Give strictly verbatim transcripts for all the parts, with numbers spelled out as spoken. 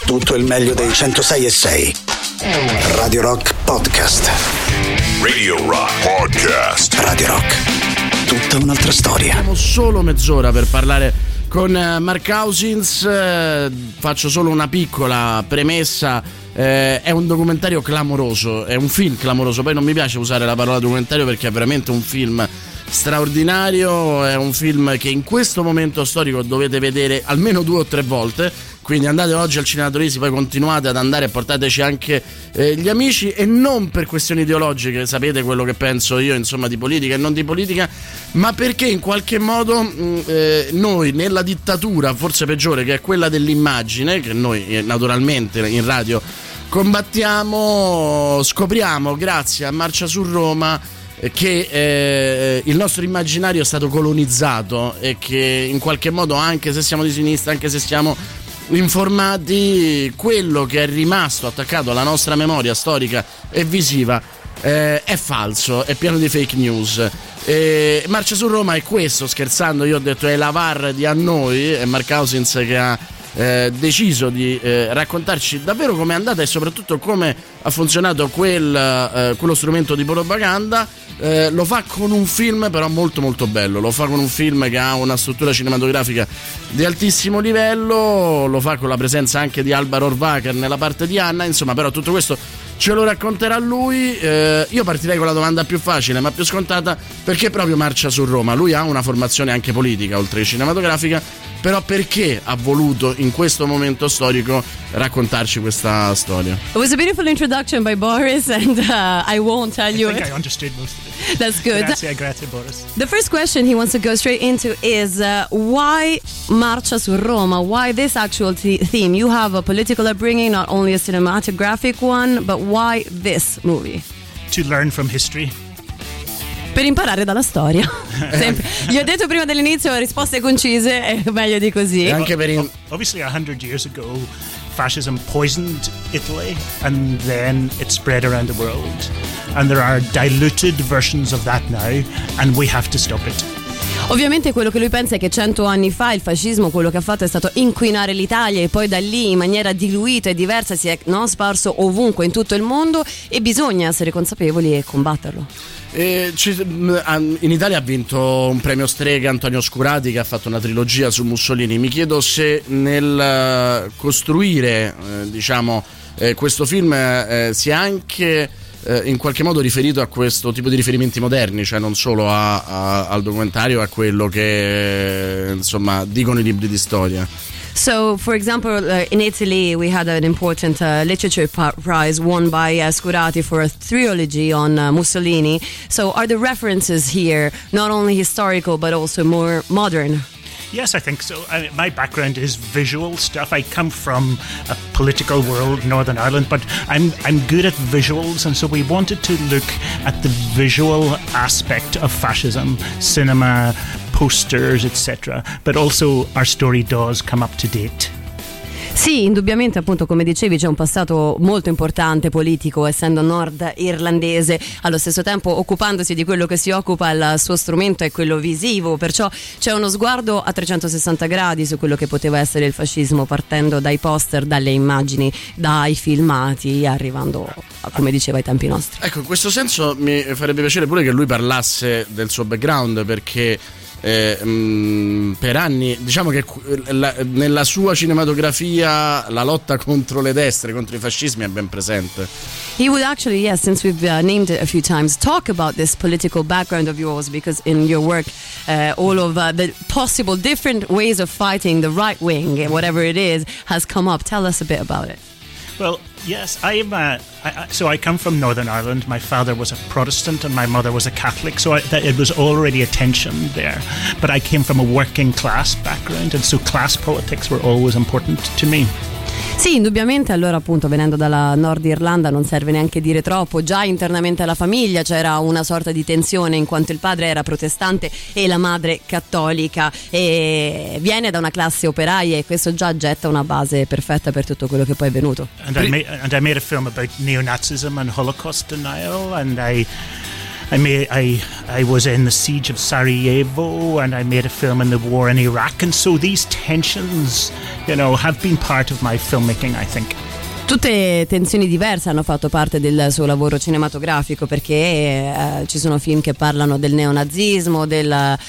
tutto il meglio dei centosei e sei. Radio Rock Podcast. Radio Rock Podcast. Radio Rock, tutta un'altra storia. Abbiamo solo mezz'ora per parlare con Mark Cousins. Eh, faccio solo una piccola premessa. Eh, è un documentario clamoroso, è un film clamoroso. Poi non mi piace usare la parola documentario perché è veramente un film straordinario. È un film che in questo momento storico dovete vedere almeno due o tre volte. Quindi andate oggi al Cinema Torisi, poi continuate ad andare e portateci anche eh, gli amici, e non per questioni ideologiche, sapete quello che penso io, insomma, di politica e non di politica, ma perché in qualche modo mh, eh, noi nella dittatura forse peggiore, che è quella dell'immagine, che noi eh, naturalmente in radio combattiamo, scopriamo grazie a Marcia su Roma che eh, il nostro immaginario è stato colonizzato e che in qualche modo, anche se siamo di sinistra, anche se siamo informati, quello che è rimasto attaccato alla nostra memoria storica e visiva eh, è falso, è pieno di fake news. E Marcia su Roma è questo, scherzando io ho detto è la V A R di a noi, è Mark Cousins che ha eh, deciso di eh, raccontarci davvero com'è andata e soprattutto come ha funzionato quel, eh, quello strumento di propaganda. Eh, lo fa con un film però molto molto bello, lo fa con un film che ha una struttura cinematografica di altissimo livello, lo fa con la presenza anche di Alba Rohrwacher nella parte di Anna, insomma, però tutto questo ce lo racconterà lui. Eh, io partirei con la domanda più facile ma più scontata: perché proprio Marcia su Roma? Lui ha una formazione anche politica oltre che cinematografica, però perché ha voluto in questo momento storico raccontarci questa storia? It was a beautiful introduction by Boris, and uh, I won't tell you I think it. I understood most of it. That's good. Grazie, grazie Boris. The first question he wants to go straight into is uh, why Marcia su Roma? Why this actual th- theme? You have a political upbringing, not only a cinematographic one, but why this movie? To learn from history. Per imparare dalla storia. Sempre. Gli ho detto prima dell'inizio risposte concise, è meglio di così. E anche per in... Obviously a hundred years ago fascism poisoned Italy and then it spread around the world, and there are diluted versions of that now and we have to stop it. Ovviamente quello che lui pensa è che cento anni fa il fascismo quello che ha fatto è stato inquinare l'Italia, e poi da lì in maniera diluita e diversa si è no, sparso ovunque in tutto il mondo, e bisogna essere consapevoli e combatterlo. E in Italia ha vinto un premio Strega Antonio Scurati, che ha fatto una trilogia su Mussolini. Mi chiedo se nel costruire eh, diciamo eh, questo film eh, sia anche eh, in qualche modo riferito a questo tipo di riferimenti moderni, cioè non solo a, a, al documentario, a quello che insomma dicono i libri di storia. So, for example, uh, in Italy we had an important uh, literature pa- prize won by uh, Scurati for a trilogy on uh, Mussolini. So are the references here not only historical but also more modern? Yes, I think so. I mean, my background is visual stuff. I come from a political world, Northern Ireland, but I'm I'm good at visuals, and so we wanted to look at the visual aspect of fascism, cinema, posters, et cetera. But also our story does come up to date. Sì, indubbiamente, appunto, come dicevi, c'è un passato molto importante politico, essendo nord irlandese, allo stesso tempo occupandosi di quello che si occupa, il suo strumento è quello visivo, perciò c'è uno sguardo a trecentosessanta gradi su quello che poteva essere il fascismo, partendo dai poster, dalle immagini, dai filmati, arrivando, come diceva, ai tempi nostri. Ecco, in questo senso mi farebbe piacere pure che lui parlasse del suo background, perché Eh, mh, per anni diciamo che la, nella sua cinematografia la lotta contro le destre, contro i fascismi è ben presente. He would actually, yes, since we've uh, named it a few times, talk about this political background of yours, because in your work uh, all of uh, the possible different ways of fighting the right wing, whatever it is, has come up. Tell us a bit about it. Well, yes, I'm. Uh, I, so I come from Northern Ireland. My father was a Protestant and my mother was a Catholic, so I, that, it was already a tension there. But I came from a working class background, and so class politics were always important to me. Sì, indubbiamente, allora appunto venendo dalla Nord Irlanda non serve neanche dire troppo, già internamente alla famiglia c'era una sorta di tensione in quanto il padre era protestante e la madre cattolica, e viene da una classe operaia, e questo già getta una base perfetta per tutto quello che poi è venuto. And I made, and I made a film about neo-Nazism and Holocaust denial, and I I made I I was in the siege of Sarajevo, and I made a film in the war in Iraq, and so these tensions, you know, have been part of my filmmaking, I think. Tutte tensioni diverse hanno fatto parte del suo lavoro cinematografico, perché eh, ci sono film che parlano del neonazismo, del,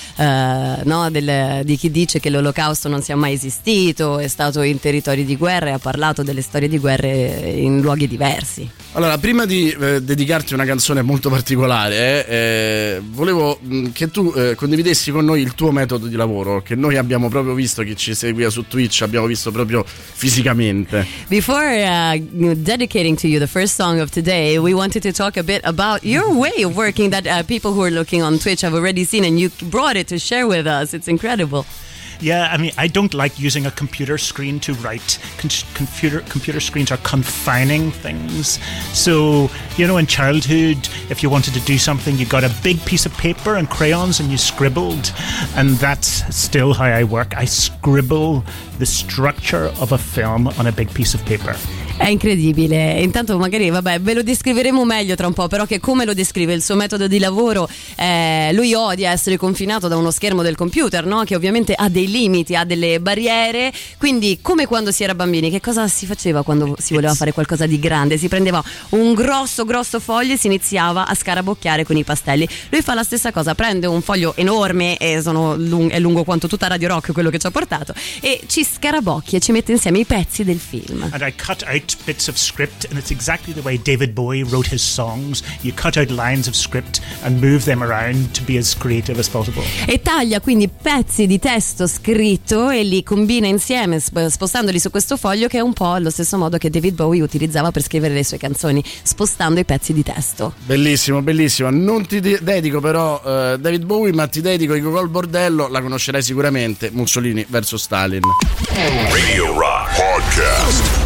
eh, no, del, di chi dice che l'Olocausto non sia mai esistito, è stato in territori di guerra e ha parlato delle storie di guerre in luoghi diversi. Allora, prima di eh, dedicarti una canzone molto particolare, eh, volevo mh, che tu eh, condividessi con noi il tuo metodo di lavoro, che noi abbiamo proprio visto, chi ci seguiva su Twitch, abbiamo visto proprio fisicamente. Before uh, dedicating to you the first song of today, we wanted to talk a bit about your way of working that uh, people who are looking on Twitch have already seen, and you brought it to share with us. It's incredible. Yeah, I mean, I don't like using a computer screen to write. Con- computer computer screens are confining things. So, you know, in childhood, if you wanted to do something, you got a big piece of paper and crayons and you scribbled. And that's still how I work. I scribble the structure of a film on a big piece of paper. È incredibile. Intanto magari vabbè ve lo descriveremo meglio tra un po', però che come lo descrive il suo metodo di lavoro, eh, lui odia essere confinato da uno schermo del computer, no? Che ovviamente ha dei limiti, ha delle barriere, quindi come quando si era bambini, che cosa si faceva quando si voleva fare qualcosa di grande? Si prendeva un grosso grosso foglio e si iniziava a scarabocchiare con i pastelli. Lui fa la stessa cosa, prende un foglio enorme e sono lung- è lungo quanto tutta Radio Rock, quello che ci ha portato, e ci scarabocchia e ci mette insieme i pezzi del film. And I cut out bits of script, and it's exactly the way David Bowie wrote his songs. You cut out lines of script and move them around to be as creative as possible. E taglia quindi pezzi di testo scritto e li combina insieme, spostandoli su questo foglio, che è un po' allo stesso modo che David Bowie utilizzava per scrivere le sue canzoni, spostando i pezzi di testo. Bellissimo, bellissimo. Non ti de- dedico però uh, David Bowie, ma ti dedico i Gogol Bordello, la conoscerai sicuramente, Mussolini versus Stalin. Radio Rock Podcast.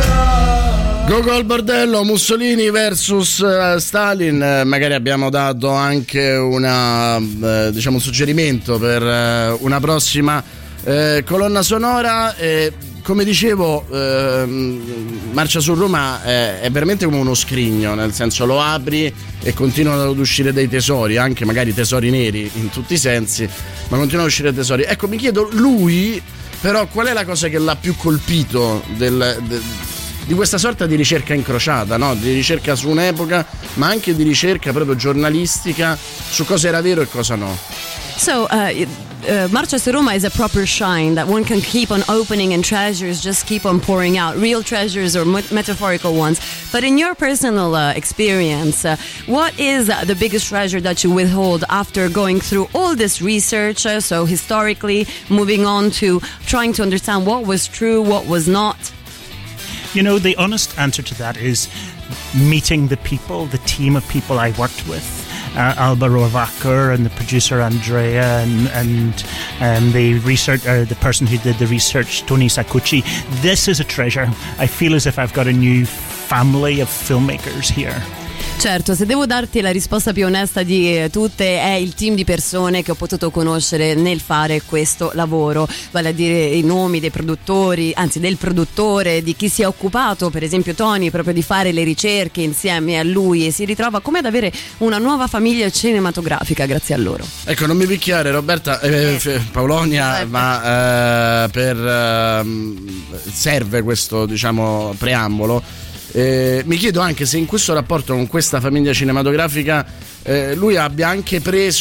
Gogol Bordello, Mussolini versus uh, Stalin. Uh, magari abbiamo dato anche una, uh, diciamo un suggerimento per uh, una prossima uh, colonna sonora. E, come dicevo, uh, Marcia su Roma è, è veramente come uno scrigno, nel senso lo apri e continuano ad uscire dei tesori, anche magari tesori neri in tutti i sensi, ma continuano ad uscire tesori. Ecco, mi chiedo, lui però qual è la cosa che l'ha più colpito del, del di questa sorta di ricerca incrociata, no? Di ricerca su un'epoca, ma anche di ricerca proprio giornalistica su cosa era vero e cosa no. So, uh, uh, Marcia su Roma is a proper shrine that one can keep on opening, and treasures just keep on pouring out, real treasures or met- metaphorical ones. But in your personal uh, experience, uh, what is uh, the biggest treasure that you withhold after going through all this research, uh, so historically, moving on to trying to understand what was true, what was not? You know, the honest answer to that is meeting the people, the team of people I worked with. Uh, Alba Rohrwacher and the producer Andrea and, and um, the research, uh, the person who did the research, Tony Sacucci. This is a treasure. I feel as if I've got a new family of filmmakers here. Certo, se devo darti la risposta più onesta di eh, tutte, è il team di persone che ho potuto conoscere nel fare questo lavoro, vale a dire i nomi dei produttori, anzi del produttore, di chi si è occupato, per esempio Tony, proprio di fare le ricerche insieme a lui, e si ritrova come ad avere una nuova famiglia cinematografica grazie a loro. Ecco, non mi picchiare Roberta, eh, eh, Paulonia, eh. ma eh, per eh, serve questo, diciamo, preambolo. Eh, mi chiedo anche se in questo rapporto con questa famiglia cinematografica eh, lui abbia anche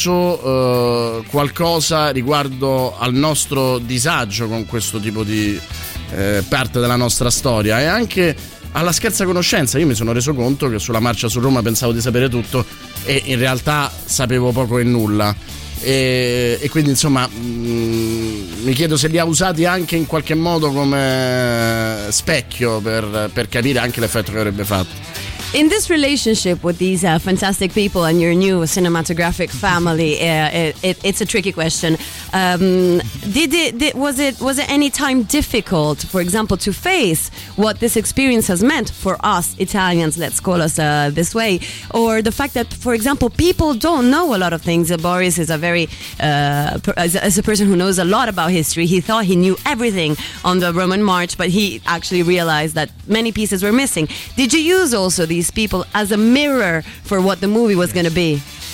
preso eh, qualcosa riguardo al nostro disagio con questo tipo di eh, parte della nostra storia, e anche alla scarsa conoscenza. Io mi sono reso conto che sulla Marcia su Roma pensavo di sapere tutto e in realtà sapevo poco e nulla. E, e quindi insomma mh, mi chiedo se li ha usati anche in qualche modo come specchio per, per capire anche l'effetto che avrebbe fatto. In this relationship with these uh, fantastic people and your new cinematographic family, uh, it, it, it's a tricky question. Um, did it did, was it was it any time difficult, for example, to face what this experience has meant for us Italians? Let's call us uh, this way, or the fact that, for example, people don't know a lot of things. Boris is a very uh, per, as, as a person who knows a lot about history. He thought he knew everything on the Roman March, but he actually realized that many pieces were missing. Did you use also these people as a mirror for what the movie was going to be?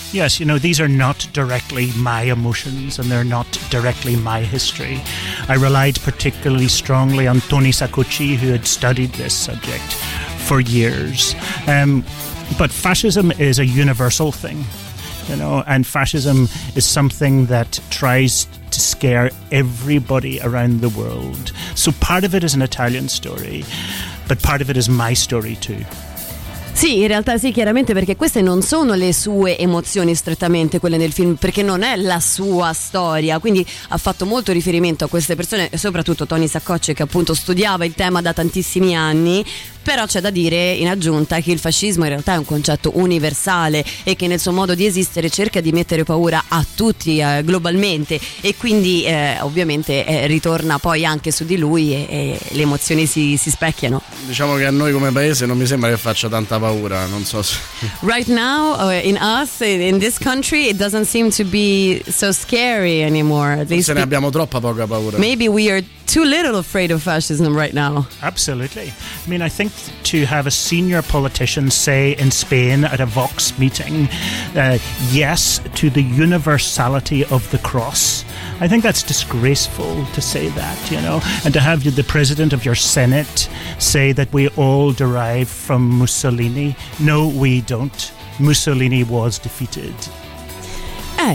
Yes, you know, these are not directly my emotions and they're not directly my history. I relied particularly strongly on Tony Saccucci, who had studied this subject for years. Um, but fascism is a universal thing, you know, and fascism is something that tries to scare everybody around the world. So part of it is an Italian story, but part of it is my story too. Sì, in realtà sì, chiaramente, perché queste non sono le sue emozioni strettamente, quelle del film, perché non è la sua storia, quindi ha fatto molto riferimento a queste persone, soprattutto Tony Saccucci, che appunto studiava il tema da tantissimi anni. Però c'è da dire in aggiunta che il fascismo in realtà è un concetto universale e che nel suo modo di esistere cerca di mettere paura a tutti eh, globalmente, e quindi eh, ovviamente eh, ritorna poi anche su di lui e, e le emozioni si, si specchiano. Diciamo che a noi come paese non mi sembra che faccia tanta paura, non so se... Right now uh, in us, in this country, it doesn't seem to be so scary anymore. At least se ne abbiamo troppa poca paura. Maybe we are too little afraid of fascism right now. Absolutely. I mean, I think to have a senior politician say in Spain at a Vox meeting, uh, yes to the universality of the cross, I think that's disgraceful to say that, you know, and to have the president of your Senate say that we all derive from Mussolini. No, we don't. Mussolini was defeated. Eh.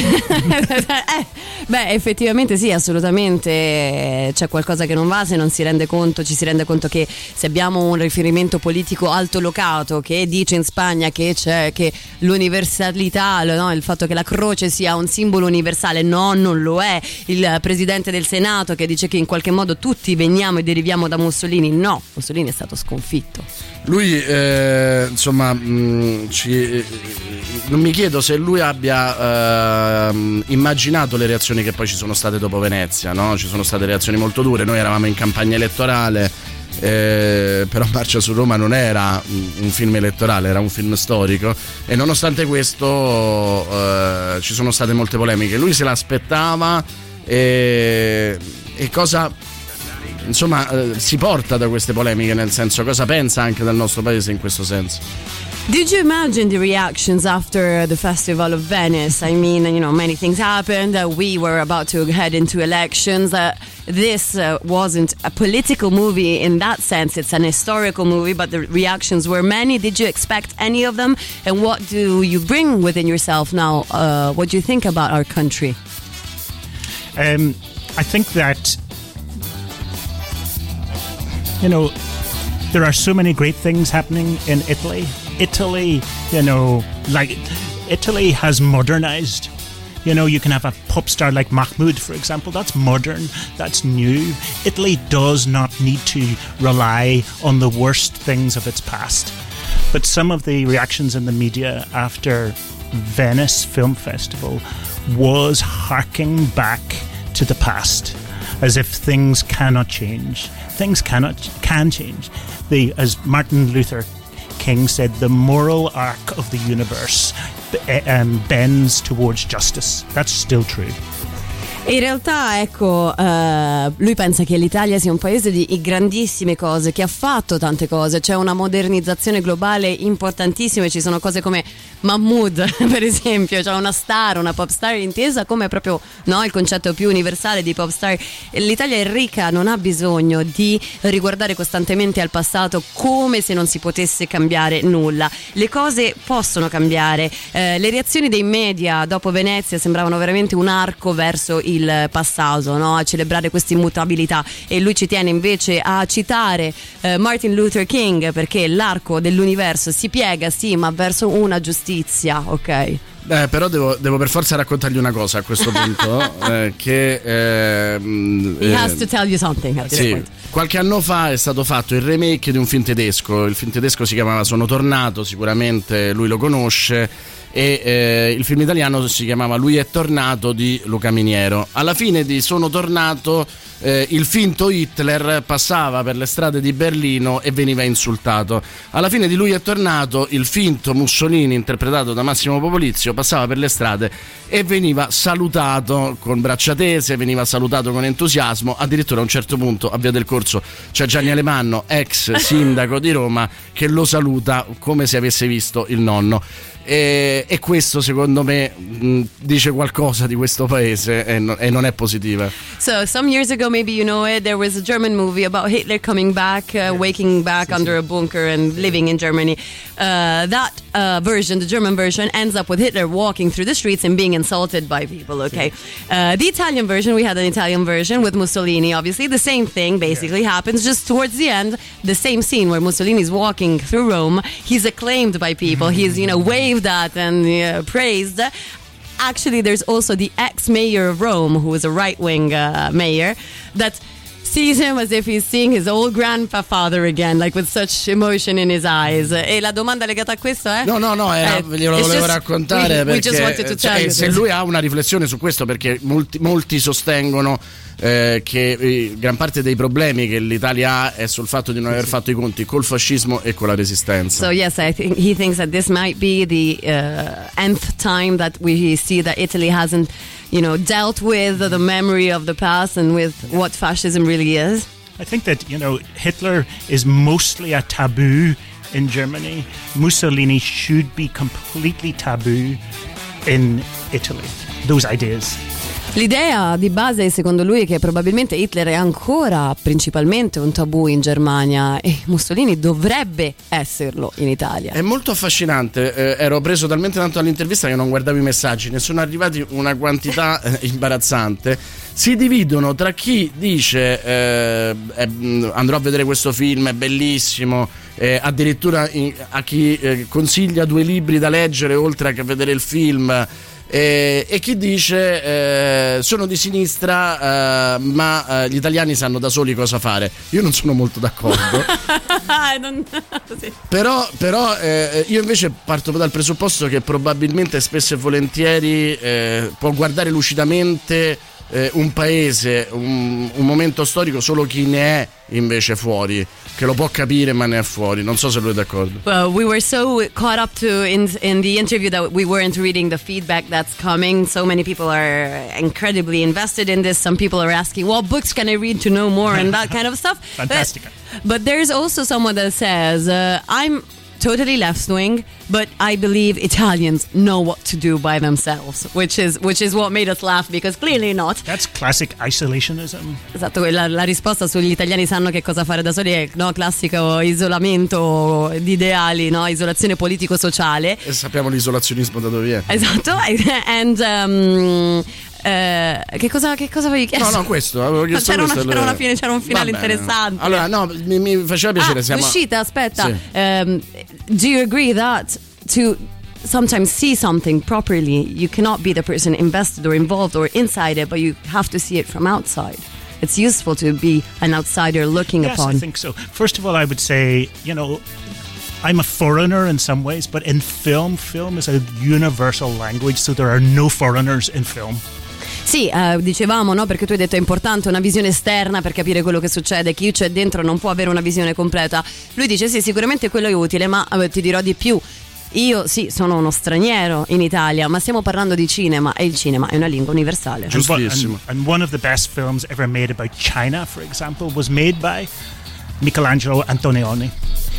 eh, beh, effettivamente sì, assolutamente c'è qualcosa che non va se non si rende conto, ci si rende conto che se abbiamo un riferimento politico altolocato che dice in Spagna che c'è che l'universalità, no, il fatto che la croce sia un simbolo universale, no, non lo è. Il presidente del Senato che dice che in qualche modo tutti veniamo e deriviamo da Mussolini, no, Mussolini è stato sconfitto. Lui eh, insomma mh, ci, eh, non mi chiedo se lui abbia Uh, immaginato le reazioni che poi ci sono state dopo Venezia, no? Ci sono state reazioni molto dure, noi eravamo in campagna elettorale, eh, però Marcia su Roma non era un film elettorale, era un film storico, e nonostante questo uh, ci sono state molte polemiche. Lui se l'aspettava e, e cosa insomma uh, si porta da queste polemiche, nel senso, cosa pensa anche del nostro paese in questo senso? Did you imagine the reactions after the Festival of Venice? I mean, you know, many things happened. Uh, we were about to head into elections. Uh, this uh, wasn't a political movie in that sense. It's an historical movie, but the reactions were many. Did you expect any of them? And what do you bring within yourself now? Uh, what do you think about our country? Um, I think that, you know, there are so many great things happening in Italy. Italy, you know, like Italy has modernized. You know, you can have a pop star like Mahmoud, for example. That's modern, that's new. Italy does not need to rely on the worst things of its past. But some of the reactions in the media after Venice Film Festival was harking back to the past, as if things cannot change. Things cannot can change. The, as Martin Luther King said, the moral arc of the universe um, bends towards justice. That's still true. In realtà, ecco, uh, lui pensa che l'Italia sia un paese di grandissime cose, che ha fatto tante cose, c'è una modernizzazione globale importantissima e ci sono cose come Mahmood, per esempio, cioè una star, una pop star intesa come proprio, no, il concetto più universale di pop star. L'Italia è ricca, non ha bisogno di riguardare costantemente al passato come se non si potesse cambiare nulla. Le cose possono cambiare. Eh, le reazioni dei media dopo Venezia sembravano veramente un arco verso il il passato, no? A celebrare questa immutabilità, e lui ci tiene invece a citare eh, Martin Luther King, perché l'arco dell'universo si piega, sì, ma verso una giustizia, ok? Eh, però devo, devo per forza raccontargli una cosa a questo punto, eh, che eh, He has to tell you something at this sì, point. Qualche anno fa è stato fatto il remake di un film tedesco. Il film tedesco si chiamava Sono tornato, sicuramente lui lo conosce, e eh, il film italiano si chiamava Lui è tornato di Luca Miniero. Alla fine di Sono tornato eh, il finto Hitler passava per le strade di Berlino e veniva insultato. Alla fine di Lui è tornato il finto Mussolini, interpretato da Massimo Popolizio, passava per le strade e veniva salutato con braccia tese, veniva salutato con entusiasmo. Addirittura a un certo punto, a Via del Corso, c'è Gianni Alemanno, ex sindaco di Roma, che lo saluta come se avesse visto il nonno. E, e questo secondo me mh, dice qualcosa di questo paese e, no, e non è positiva. So some years ago, maybe you know it, there was a German movie about Hitler coming back, uh, waking back under a bunker and living in Germany. Uh, that uh, version, the German version, ends up with Hitler walking through the streets and being insulted by people, okay? Uh, the Italian version, we had an Italian version with Mussolini, obviously. The same thing basically yeah. happens, just towards the end, the same scene where Mussolini's walking through Rome. He's acclaimed by people. He's, you know, waved at and uh, praised. Actually, there's also the ex-mayor of Rome, who was a right-wing uh, mayor, that sees him as if he's seeing his old grandfather again, like with such emotion in his eyes. E la domanda legata a questo è? No, no, no, era, eh, glielo volevo just, raccontare we, perché we cioè, se lui ha una riflessione su questo, perché molti, molti sostengono eh, che eh, gran parte dei problemi che l'Italia ha è sul fatto di non aver fatto i conti col fascismo e con la resistenza. So yes, I think he thinks that this might be the uh, nth time that we see that Italy hasn't, you know, dealt with the memory of the past and with what fascism really is. I think that, you know, Hitler is mostly a taboo in Germany. Mussolini should be completely taboo in Italy. Those ideas. L'idea di base secondo lui è che probabilmente Hitler è ancora principalmente un tabù in Germania e Mussolini dovrebbe esserlo in Italia. È molto affascinante, eh, ero preso talmente tanto dall'intervista che non guardavo i messaggi, ne sono arrivati una quantità eh, imbarazzante. Si dividono tra chi dice eh, eh, andrò a vedere questo film, è bellissimo, eh, addirittura in, a chi eh, consiglia due libri da leggere oltre a vedere il film. E, e chi dice eh, sono di sinistra eh, ma eh, gli italiani sanno da soli cosa fare. Io non sono molto d'accordo. non, sì. Però, però eh, io invece parto dal presupposto che probabilmente spesso e volentieri eh, può guardare lucidamente eh, un paese, un, un momento storico solo chi ne è invece fuori, che lo può capire ma ne è fuori. Non so se lui è d'accordo. Well, we were so caught up to in in the interview that we weren't reading the feedback that's coming. So many people are incredibly invested in this. Some people are asking, what books can I read to know more and that kind of stuff. Fantastic. But, but there's also someone that says, uh, I'm totally left-wing, but I believe Italians know what to do by themselves, which is which is what made us laugh, because clearly not. That's classic isolationism. Esatto, la, la risposta sugli italiani sanno che cosa fare da soli è, no, classico isolamento di ideali, no, isolazione politico-sociale. E sappiamo l'isolazionismo da dove viene. Esatto, and um, Eh, che cosa che cosa avevi chiesto? No, no, questo avevo chiesto. C'era, questo una, c'era, una fine, c'era un finale interessante. Allora, no, mi, mi faceva piacere. Ah, siamo... l'uscita, aspetta. Sì. Um, do you agree that to sometimes see something properly, you cannot be the person invested or involved or inside it, but you have to see it from outside? It's useful to be an outsider looking yes, upon. Yes, I think so. First of all, I would say, you know, I'm a foreigner in some ways, but in film, film is a universal language, so there are no foreigners in film. Sì, eh, dicevamo, no, perché tu hai detto è importante una visione esterna per capire quello che succede, chi c'è dentro non può avere una visione completa. Lui dice sì, sicuramente quello è utile, ma eh, ti dirò di più. Io sì, sono uno straniero in Italia, ma stiamo parlando di cinema e il cinema è una lingua universale. Giustissimo. And, and one of the best films ever made about China, for example, was made by Michelangelo Antonioni.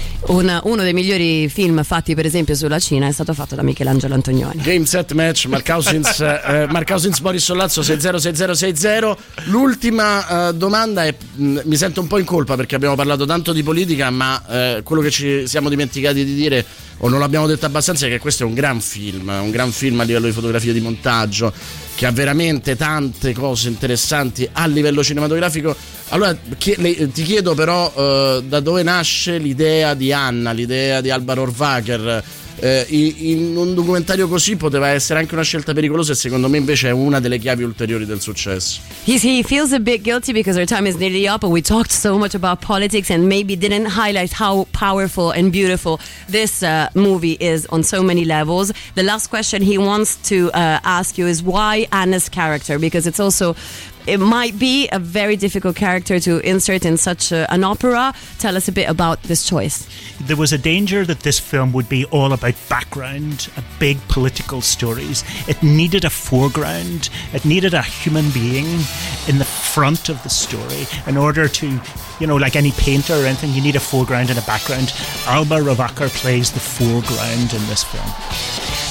Un, uno dei migliori film fatti per esempio sulla Cina è stato fatto da Michelangelo Antonioni. Game set match, Mark Cousins, eh, Mark Cousins Boris Sollazzo sei zero sei zero sei zero. L'ultima eh, domanda è, mh, mi sento un po' in colpa perché abbiamo parlato tanto di politica, ma eh, quello che ci siamo dimenticati di dire o non l'abbiamo detto abbastanza è che questo è un gran film, un gran film a livello di fotografia e di montaggio, che ha veramente tante cose interessanti a livello cinematografico. Allora ti chiedo però eh, da dove nasce l'idea di Anna, l'idea di Alvaro Horvacher. Eh, in un documentario così poteva essere anche una scelta pericolosa e secondo me invece è una delle chiavi ulteriori del successo. He's, he feels a bit guilty because our time is nearly up and we talked so much about politics and maybe didn't highlight how powerful and beautiful this uh, movie is on so many levels. The last question he wants to uh, ask you is why Anna's character, because it's also it might be a very difficult character to insert in such a, an opera. Tell us a bit about this choice. There was a danger that this film would be all about background, big political stories. It needed a foreground. It needed a human being in the front of the story in order to, you know, like any painter or anything, you need a foreground and a background. Alba Horvacher plays the foreground in this film.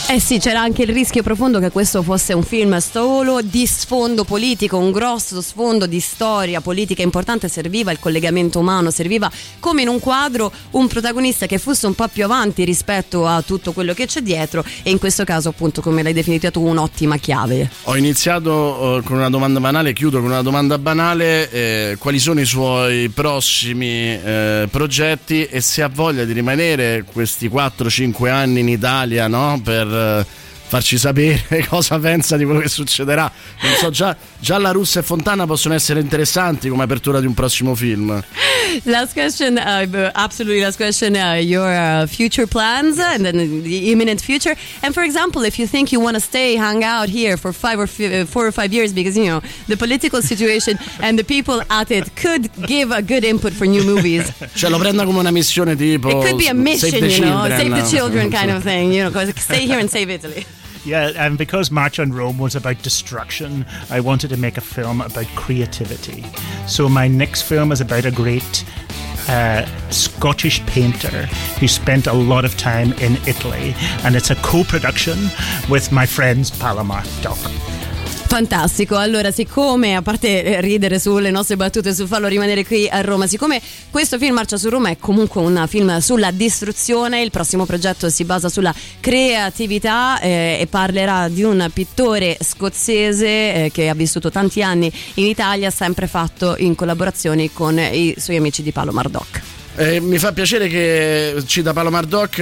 Eh sì, c'era anche il rischio profondo che questo fosse un film solo di sfondo politico, un grosso sfondo di storia politica importante. Serviva il collegamento umano, serviva come in un quadro un protagonista che fosse un po' più avanti rispetto a tutto quello che c'è dietro, e in questo caso appunto, come l'hai definito tu, un'ottima chiave. Ho iniziato uh, con una domanda banale, chiudo con una domanda banale: eh, quali sono i suoi prossimi eh, progetti, e se ha voglia di rimanere questi quattro cinque anni in Italia, no? Per farci sapere cosa pensa di quello che succederà. Non so, già, già la Russa e Fontana possono essere interessanti come apertura di un prossimo film. Last question, uh, absolutely last question, uh, your uh, future plans and then the imminent future. And for example, if you think you want to stay, hang out here for five or f- uh, four or five years, because, you know, the political situation and the people at it could give a good input for new movies. Cioè lo prenda come una missione tipo It could be a mission, Save the you know, Children. Save the Children kind of thing, you know, stay here and save Italy. Yeah, and because March on Rome was about destruction, I wanted to make a film about creativity. So my next film is about a great uh, Scottish painter who spent a lot of time in Italy, and it's a co-production with my friends Palomar Doc. Fantastico. Allora, siccome, a parte ridere sulle nostre battute sul farlo rimanere qui a Roma, siccome questo film Marcia su Roma è comunque un film sulla distruzione, il prossimo progetto si basa sulla creatività eh, e parlerà di un pittore scozzese eh, che ha vissuto tanti anni in Italia, sempre fatto in collaborazione con i suoi amici di Palomar Doc. Eh, mi fa piacere che cita Palomar Doc,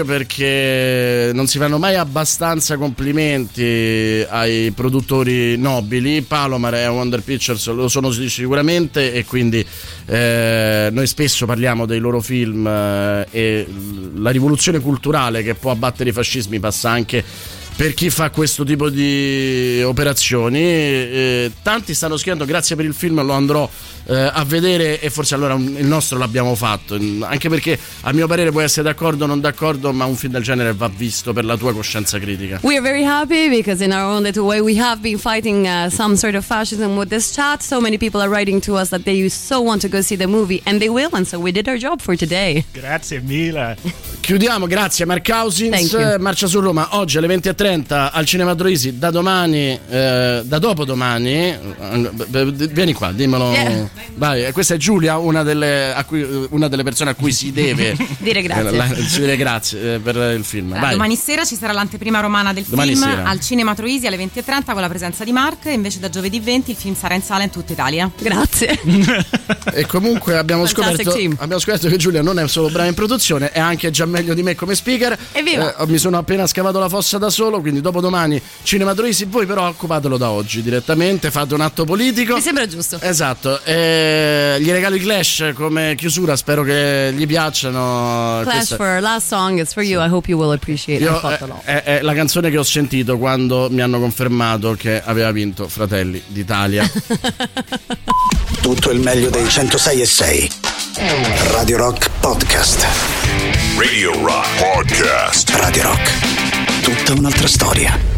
perché non si fanno mai abbastanza complimenti ai produttori nobili. Palomar e Wonder Pictures lo sono sicuramente, e quindi eh, noi spesso parliamo dei loro film, eh, e la rivoluzione culturale che può abbattere i fascismi passa anche per chi fa questo tipo di operazioni. Eh, tanti stanno scrivendo grazie per il film, lo andrò eh, a vedere, e forse allora un, il nostro l'abbiamo fatto, anche perché a mio parere puoi essere d'accordo o non d'accordo, ma un film del genere va visto per la tua coscienza critica. We are very happy because in our own little way we have been fighting uh, some sort of fascism with this chat. So many people are writing to us that they so want to go see the movie, and they will, and so we did our job for today. Grazie mille. Chiudiamo, grazie Mark Cousins. Marcia su Roma oggi alle venti e trenta al Cinema Troisi, da domani eh, da dopodomani, vieni qua, dimmelo. Yeah. Vai, questa è Giulia, una delle, a cui, una delle persone a cui si deve dire grazie, eh, la, si deve grazie per il film. Allora, domani sera ci sarà l'anteprima romana del domani film sera. al Cinema Troisi alle venti e trenta con la presenza di Mark, e invece da giovedì venti il film sarà in sala in tutta Italia. Grazie. E comunque abbiamo scoperto, abbiamo scoperto che Giulia non è solo brava in produzione, è anche già meglio di me come speaker. Evviva. Eh, mi sono appena scavato la fossa da solo, quindi dopodomani Cinema Troisi. Voi però occupatelo da oggi direttamente, fate un atto politico. Mi sembra giusto. Esatto. Eh, gli regalo i Clash come chiusura, spero che gli piacciono. Clash Questa... for last song is for you. I hope you will appreciate it. Io, è, è, è la canzone che ho sentito quando mi hanno confermato che aveva vinto Fratelli d'Italia. Tutto il meglio dei centosei e sei. Radio Rock Podcast. Radio Rock Podcast. Radio Rock. Tutta un'altra storia.